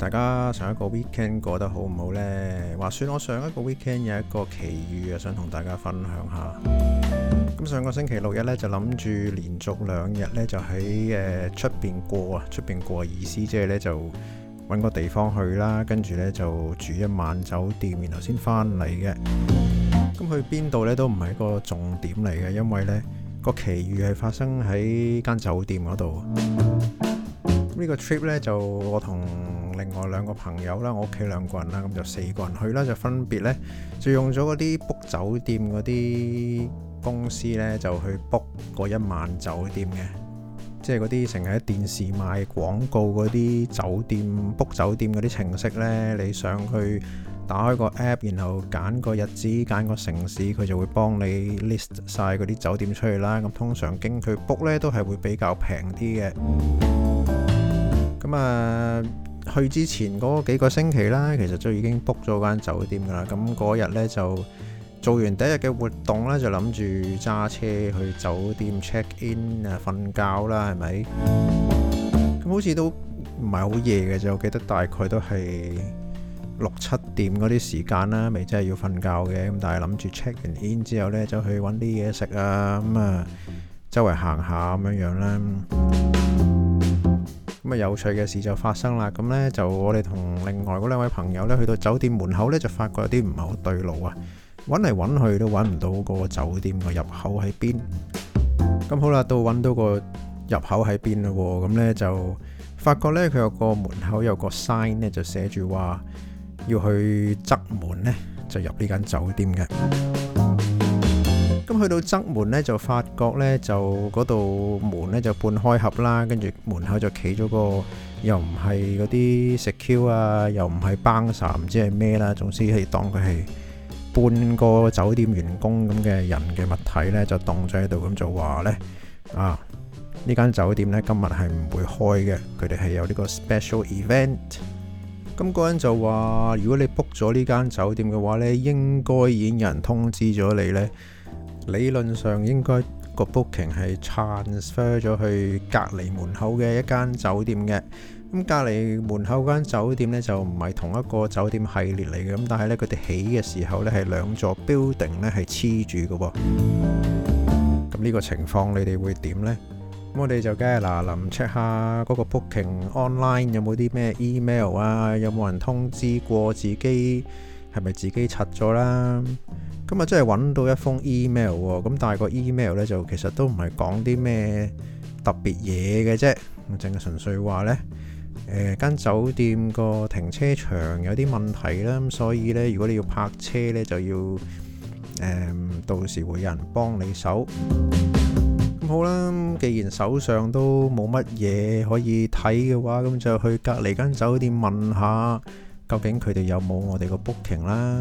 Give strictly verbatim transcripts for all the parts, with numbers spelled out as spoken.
大家上一個 weekend 過得好唔好呢？話說我上一個 weekend 有一個奇遇啊，想同大家分享下。咁上個星期六日呢，就諗住連續兩日呢，就喺誒出邊過啊，出邊過嘅意思即係呢，就揾個地方去啦，跟住呢，就住一晚酒店，然後先翻嚟嘅。咁去邊度呢，都唔係一個重點嚟嘅，因為呢個奇遇係發生喺間酒店嗰度。呢個 trip 呢，就我同另外兩個朋友啦，我屋企兩個人啦，咁就四個人去啦，就分別呢，就用咗嗰啲 book 酒店嗰啲公司呢，就去 book 嗰一晚酒店嘅，即係嗰啲成日喺電視賣廣告嗰啲酒店 book 酒店嗰啲程式呢，你上去打開個 app， 然後揀個日子，揀個城市，佢就會幫你 list 晒嗰啲酒店出嚟啦。咁通常經佢 book 呢，都係會比較平啲嘅。咁啊，去之前嗰幾個星期啦，其實就已經 book 咗間酒店噶啦。咁嗰日呢，就做完第一日嘅活動呢，就諗住揸車去酒店 check in 啊，瞓覺啦，係咪？咁好似都唔係好夜嘅啫，我記得大概都係六七點嗰啲時間啦，未真係要瞓覺嘅。咁但係諗住 check 完 in 之後呢，就去揾啲嘢食啊，咁啊周圍行下咁樣樣啦。咁啊有趣嘅事就發生啦，咁呢，就我哋同另外嗰兩位朋友呢，去到酒店門口呢，就發覺有啲唔係好對路啊，揾嚟揾去都揾唔到個酒店個入口喺邊。咁好啦，到揾到個入口喺邊啦，咁呢，就發覺呢，佢有個門口有個 sign 呢，就寫住話要去側門呢，就入呢間酒店嘅。咁去到側門呢，就發覺呢，就嗰度門呢，就半開合啦，跟住門口就企咗個又唔係嗰啲 secure 啊，又唔係 bouncer，唔知係咩啦，總之係當佢係半個酒店員工咁嘅人嘅物體呢，就凍咗喺度，咁就話呢，啊呢間酒店呢，今日係唔會開嘅，佢哋係有呢個 special event。咁嗰人就話，如果你 book 咗呢間酒店嘅話呢，應該已經有人通知咗你呢。理論上應該個 booking 係 transfer 咗去隔離門口嘅一間酒店嘅。咁隔離門口間酒店呢，就唔係同一個酒店系列嚟嘅。咁但係呢，佢哋起嘅時候呢，係兩座 building 呢係黐住嘅喎。咁呢個情況你哋會點呢？咁我哋就梗係嗱臨 check 下嗰個 booking online 有冇啲咩 email 啊，有冇人通知過自己係咪自己柒咗啦？咁啊，真係揾到一封 email 喎，咁但係個 email 呢，就其實都唔係講啲咩特別嘢嘅啫，淨係純粹話呢，誒間酒店個停車場有啲問題啦，咁所以呢，如果你要泊車呢，就要誒、嗯、到時會有人幫你手。咁好啦，既然手上都冇乜嘢可以睇嘅話，咁就去隔離間酒店問下，究竟佢哋有冇我哋個 booking 啦。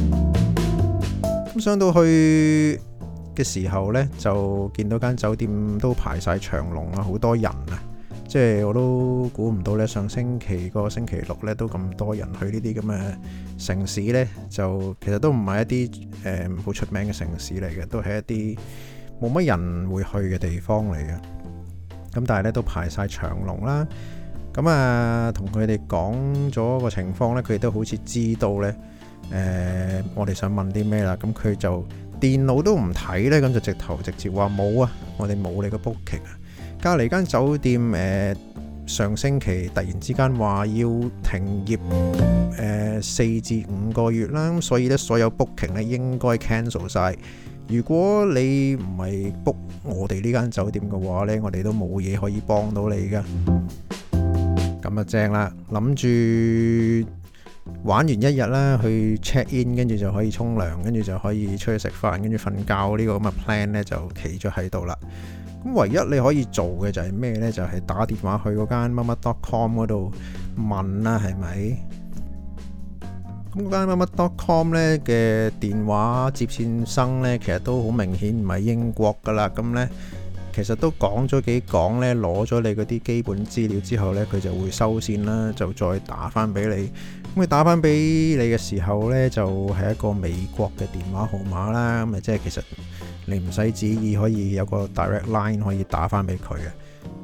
咁上到去嘅時候呢，就見到間酒店都排晒長龍啊，好多人啊！即係我都估唔到呢，上星期個星期六呢都咁多人去呢啲咁嘅城市呢，就其實都唔係一啲誒好出名嘅城市嚟嘅，都係一啲冇乜人會去嘅地方嚟嘅。咁但係呢，都排晒長龍啦。咁啊，同佢哋講咗個情況呢，佢哋都好似知道呢。誒、呃，我哋想問啲咩啦？咁佢就電腦都唔睇呢，咁就直頭直接話冇啊，我哋冇你個 booking 啊。隔離間酒店誒、呃，上星期突然之間話要停業誒四至五個月啦，咁所以呢，所有 booking 呢應該 cancel 晒。如果你唔係 book 我哋呢間酒店嘅話呢，我哋都冇嘢可以幫到你噶。咁啊正啦，諗住玩完一日啦，去 check in， 跟住就可以沖涼，跟住就可以出去食飯，跟住瞓覺，呢個咁嘅 plan 呢就企咗喺度啦。咁唯一你可以做嘅就係咩呢？就係、是、打電話去嗰間乜乜 dot com 嗰度問啦，係咪？咁嗰間乜乜 dot com 呢嘅電話接線生呢，其實都好明顯唔係英國噶啦。咁呢，其實都講咗幾講呢，攞咗你嗰啲基本資料之後呢，佢就會收線啦，就再打翻俾你。咁佢打翻俾你嘅時候呢，就係、是、一個美國嘅電話號碼啦。咁啊，即係其實你唔使旨意可以有個 direct line 可以打翻俾佢嘅，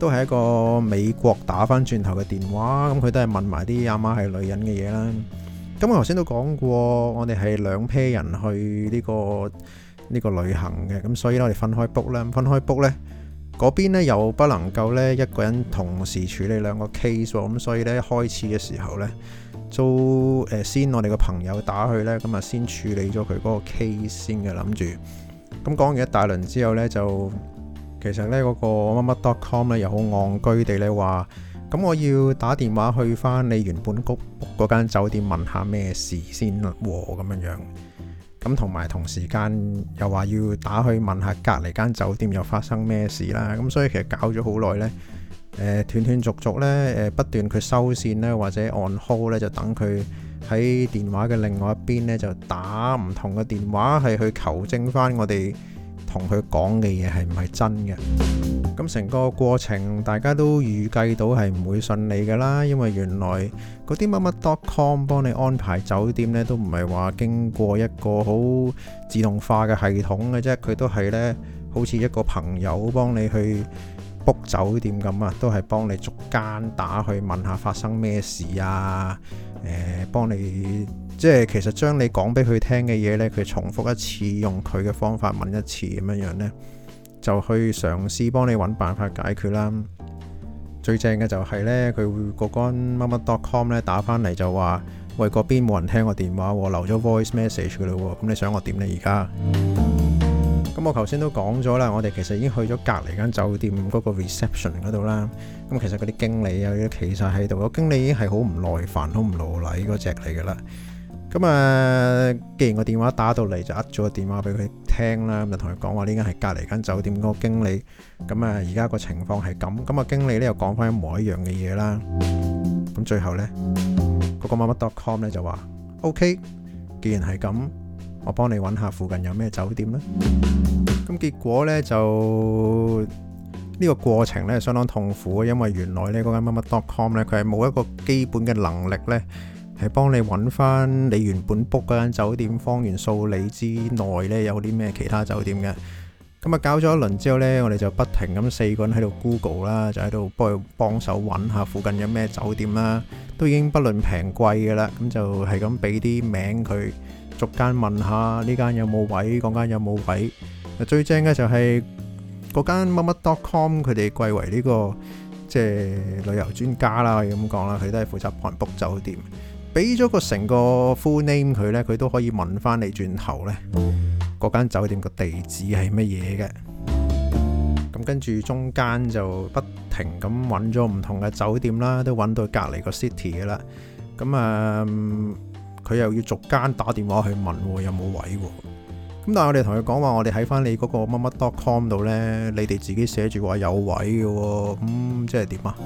都係一個美國打翻轉頭嘅電話，咁佢都係問埋啲阿媽係女人嘅嘢啦。咁我頭先都講過，我哋係兩 pair 人去呢個呢個旅行嘅，咁所以我哋分開 book 啦，分開 book 呢，嗰邊呢又不能夠呢一個人同時處理兩個 case 喎，咁所以呢，一開始嘅時候呢，都誒先我哋個朋友打去呢，咁啊先處理咗佢嗰個 case 先嘅，諗住。咁講完一大輪之後呢，就其實呢嗰個乜乜 dot com 呢又好戇居地呢話，咁我要打電話去翻你原本 book 嗰間酒店問下咩事先喎，咁樣樣。咁同埋同時間又話要打去問下隔離間酒店又發生咩事啦。咁所以其實搞咗好耐呢，誒斷斷續續呢，誒不斷佢收線呢，或者 on hold 呢，就等佢喺電話嘅另外一邊呢，就打唔同嘅電話，係去求證翻我哋同佢講嘅嘢係唔係真嘅。咁成個過程大家都預計到係唔會順利㗎啦，因為原來嗰啲乜乜 dot com 幫你安排酒店呢，都唔係話經過一個好自動化嘅系統嘅啫，佢都係呢，好似一個朋友幫你去 book 酒店咁啊，都係幫你逐間打去問下發生咩事啊，誒、呃、幫你即係其實將你講俾佢聽嘅嘢呢，佢重複一次，用佢嘅方法問一次咁樣樣呢，就去嘗試幫你揾辦法解決啦。最正嘅就係呢，佢會嗰間乜乜 dot com 咧打翻嚟就話，喂，嗰邊冇人聽我電話喎，留咗 voice message 㗎啦喎，咁你想我點呢而家？咁我頭先都講咗啦，我哋其實已經去咗隔離間酒店嗰個 reception 嗰度啦。咁其實嗰啲經理啊，其實喺度，個經理已經係好唔耐煩、好唔勞禮嗰隻嚟㗎啦。咁啊，既然個電話打到嚟，就呃咗個電話俾佢聽啦，咁就同佢講話呢間係隔離間酒店嗰個經理。咁啊，而家個情況係咁，咁啊經理咧又講翻一模一樣嘅嘢啦。咁最後呢，嗰個乜乜 dot com 咧就話 OK， 既然係咁，我幫你揾下附近有咩酒店啦。咁結果呢，就呢個過程呢相當痛苦，因為原來呢嗰間乜乜 dot com 呢，佢係冇一個基本嘅能力呢，係幫你揾翻你原本 book 嗰間酒店方圓數里之內呢有啲咩其他酒店嘅。咁啊搞咗一輪之後呢，我哋就不停咁四個人喺度 Google 啦，就喺度幫佢幫手揾下附近有咩酒店啦，都已經不論平貴嘅啦，咁就係咁俾啲名佢，逐間問下呢間有冇位，嗰間有冇位。最正嘅就係嗰間乜乜 dot com， 佢哋貴為呢個即係旅遊專家啦，可以咁講啦，佢都係負責幫人 book 酒店。俾咗個成個 full name 佢呢，佢都可以問翻你轉頭呢嗰間酒店個地址係乜嘢嘅。咁跟住中間就不停咁揾咗唔同嘅酒店啦，都揾到隔離個 city 嘅啦。咁啊，佢又要逐間打電話去問有冇位喎。咁但係我哋同佢講話，我哋喺翻你嗰個乜乜 dot com 度呢，你哋自己寫住話有位嘅喎。咁即係點啊？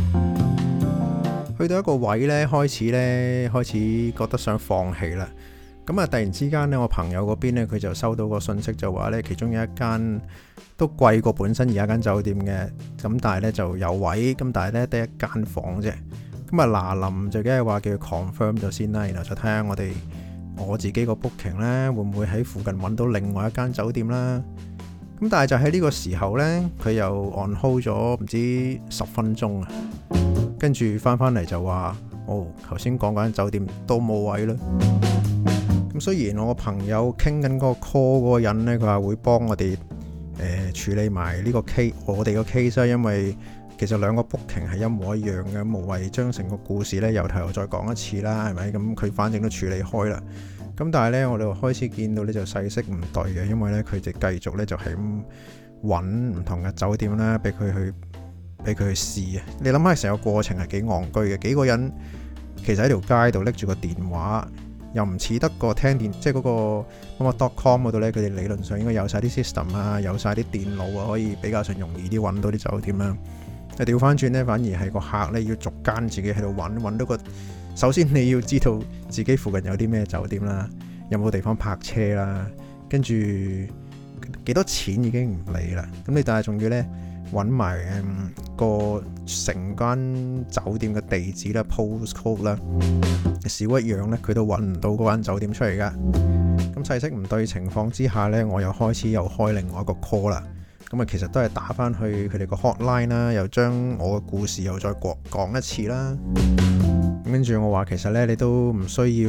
去到一個位呢，開始呢，開始覺得想放棄啦。咁啊，突然之間呢，我朋友嗰邊呢，佢就收到個信息，就話呢，其中有一間都貴過本身而家間酒店嘅，咁但係呢就有位，咁但係呢得一間房啫。咁啊嗱臨就梗係話叫佢 confirm 咗先啦，然後就睇下我哋我自己個 booking 呢會唔會喺附近揾到另外一間酒店啦。咁但係就喺呢個時候呢，佢又 on hold 咗唔知十分鐘啊。跟住翻返嚟就話，哦，頭先講嗰間酒店都冇位啦。咁雖然我個朋友傾緊嗰個 call 嗰個人呢，佢話會幫我哋誒、呃、處理埋呢個 case，我哋個 case 啦，因為其實兩個 booking 係一模一樣嘅，無謂將成個故事呢由頭又再講一次啦，係咪？咁佢反正都處理開啦。咁但係呢，我哋開始見到呢就勢色唔對嘅，因為呢，佢就繼續呢就係咁揾唔同嘅酒店啦，俾佢去。俾佢去試啊！你諗下成個過程係幾戇居嘅，幾個人其實喺條街度拎住個電話，又唔似得個聽電，即係嗰個乜乜 dot com 嗰度呢，佢哋理論上應該有晒啲 system 啊，有晒啲電腦啊，可以比較上容易啲揾到啲酒店啦。但調翻轉呢，反而係個客呢要逐間自己喺度揾，揾到個首先你要知道自己附近有啲咩酒店啦，有冇地方泊車啦，跟住幾多錢已經唔理啦。咁你但係仲要呢。揾埋誒個成間酒店嘅地址啦 postcode 啦，少一樣呢，佢都揾唔到嗰間酒店出嚟噶。咁勢色唔對情況之下呢，我又開始又開另外一個 call 啦。 咁啊，其實都係打翻去佢哋個 hotline 啦，又將我嘅故事又再講講一次啦。跟住我話其實呢，你都唔需要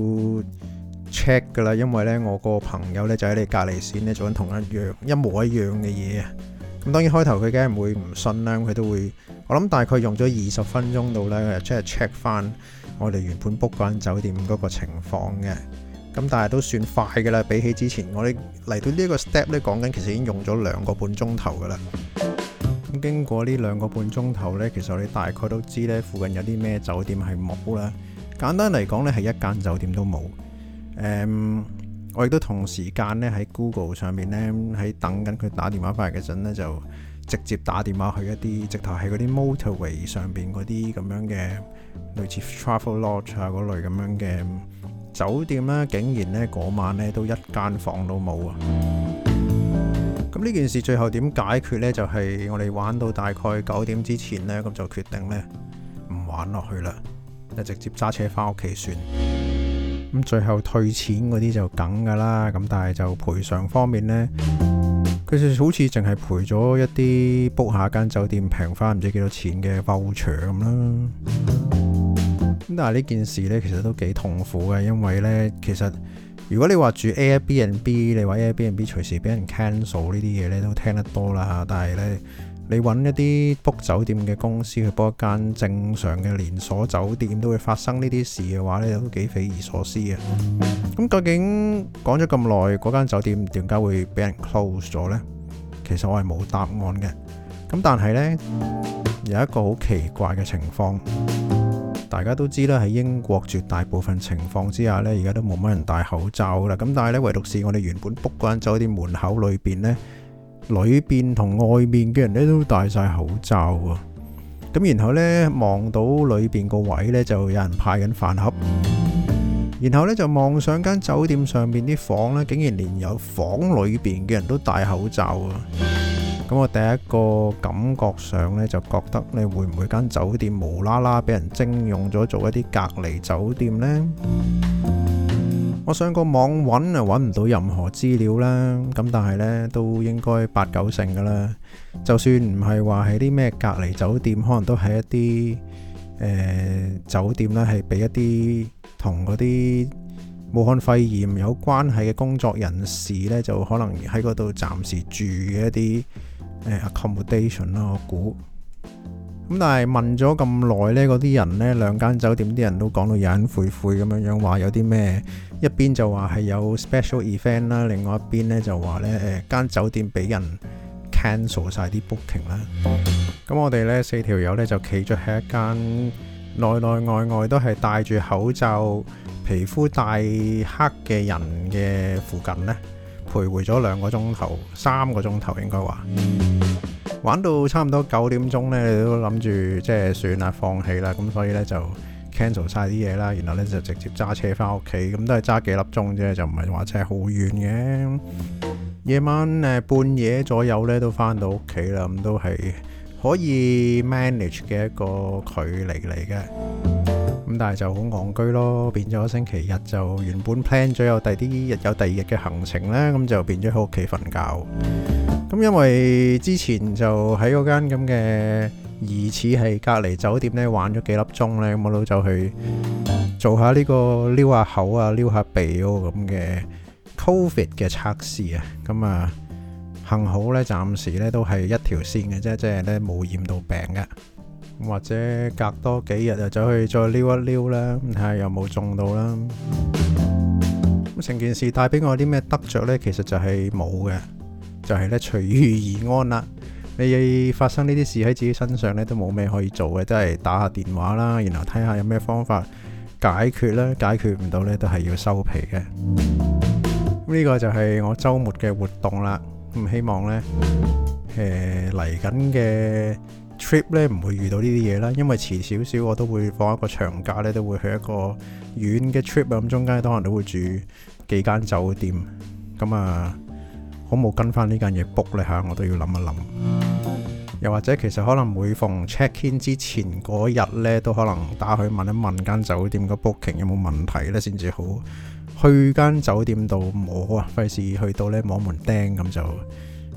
check 噶啦，因為呢，我個朋友呢就喺你隔離線呢做緊同一樣一模一樣嘅嘢啊。咁當然開頭佢梗係唔會唔信啦，佢都會，我諗大概用咗二十分鐘到呢，即係 check 翻我哋原本 book 嗰間酒店嗰個情況嘅。咁但係都算快噶啦，比起之前我哋嚟到呢一個 step 呢，講緊其實已經用咗兩個半鐘頭噶啦。咁經過呢兩個半鐘頭呢，其實我哋大概都知呢附近有啲咩酒店係冇啦。簡單嚟講呢，係一間酒店都冇。誒，我亦都同時間呢喺 Google 上面呢，喺等緊佢打電話翻嚟嘅陣呢，就直接打電話去一啲直頭係嗰啲 motorway 上邊嗰啲咁樣嘅類似 travel lodge 啊嗰類咁樣嘅酒店啦，竟然呢嗰晚呢都一間房都冇啊！咁呢件事最後點解決呢？就係、是、我哋玩到大概九點之前呢，咁就決定呢唔玩落去啦，就直接揸車翻屋企算。咁最後退錢嗰啲就梗噶啦，咁但係就賠償方面呢，佢就好似淨係賠咗一啲 book 下間酒店平翻唔知幾多錢嘅 voucher 咁啦。咁但係呢件事呢，其實都幾痛苦嘅，因為呢，其實如果你話住 Airbnb， 你話 Airbnb 隨時俾人 cancel 呢啲嘢呢，都聽得多啦。但係呢，你揾一啲 book 酒店嘅公司去 book 一間正常嘅連鎖酒店，都會發生呢啲事嘅話呢，都幾匪夷所思嘅。咁究竟講咗咁耐，嗰間酒店點解會俾人 close 咗呢？其實我係冇答案嘅。咁但係呢，有一個好奇怪嘅情況。大家都知啦，喺英國絕大部分情況之下呢，而家都冇乜人戴口罩啦。咁但係呢，唯獨是我哋原本 book 嗰間酒店門口裏邊呢，裏邊同外面嘅人呢都戴晒口罩啊。咁然後呢，望到裏邊個位呢，就有人派緊飯盒，然後呢，就望上間酒店上面啲房呢，竟然連有房裏邊嘅人都戴口罩啊。咁我第一個感覺上咧，就覺得你會唔會間酒店無啦啦俾人徵用咗做一啲隔離酒店呢？我上個網揾啊，揾唔到任何資料啦。咁但係呢，都應該八九成噶啦。就算唔係話係啲咩隔離酒店，可能都係一啲誒、呃、酒店咧，係俾一啲同嗰啲武漢肺炎有關係嘅工作人士呢，就可能喺嗰度暫時住嘅一啲accommodation 啦，我估。咁但係問咗咁耐呢，嗰啲人呢，兩間酒店啲人都講到隱晦晦咁樣樣，話有啲咩，一邊就話係有 special event 啦，另外一邊呢就話呢誒間酒店俾人 cancel 晒啲 booking 啦。咁我哋呢四條友呢，就企咗喺一間內內外外都係戴住口罩、皮膚帶黑嘅人嘅附近呢，徘徊咗兩個鐘頭，三個鐘頭應該話，玩到差唔多九點鐘呢，你都諗住即係算啦，放棄啦，咁所以呢，就 cancel 晒啲嘢啦，然後呢，就直接揸車翻屋企，咁都係揸幾粒鐘啫，就唔係話真係好遠嘅。夜晚誒半夜左右呢，都翻到屋企啦，咁都係可以 manage 嘅一個距離嚟嘅。咁但係就好戇居咯，變咗星期日就原本 plan 咗有第啲日有第二日嘅行程呢，咁就變咗喺屋企瞓覺。咁因為之前就喺嗰間咁嘅疑似係隔離酒店呢玩咗幾粒鐘呢，咁我都走去做下呢個撩下口啊、撩下鼻嗰個咁嘅 Covid 嘅測試啊。咁啊幸好呢，暫時呢都係一條線嘅啫，即係呢冇染到病嘅。或者隔多幾日就走去再撩一撩啦，睇下有冇中到啦。咁成件事帶俾我啲咩得着呢？其實就係冇嘅，就係咧隨遇而安啦。你發生呢啲事喺自己身上咧，都冇咩可以做嘅，即係打下電話啦，然後睇下有咩方法解決啦。解決唔到呢，都係要收皮嘅。呢個就係我週末嘅活動啦。咁希望呢誒嚟緊嘅trip 咧唔會遇到呢啲嘢啦，因為遲少少我都會放一個長假咧，都會去一個遠嘅 trip 啊，咁中間可能都會住幾間酒店，咁啊好冇跟翻呢間嘢 book 咧嚇，我都要諗一諗。又或者其實可能每逢 check in 之前嗰日咧，都可能打去問一問間酒店個 booking 有冇問題咧，先至好去間酒店度摸啊，費事去到咧摸門釘咁就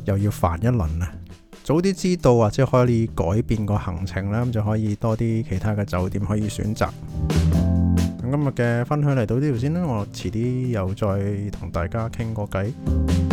又要煩一輪啊！早啲知道或者可以改變個行程啦，咁就可以多啲其他嘅酒店可以選擇。咁今日嘅分享嚟到呢度先啦，我遲啲又再同大家傾個偈。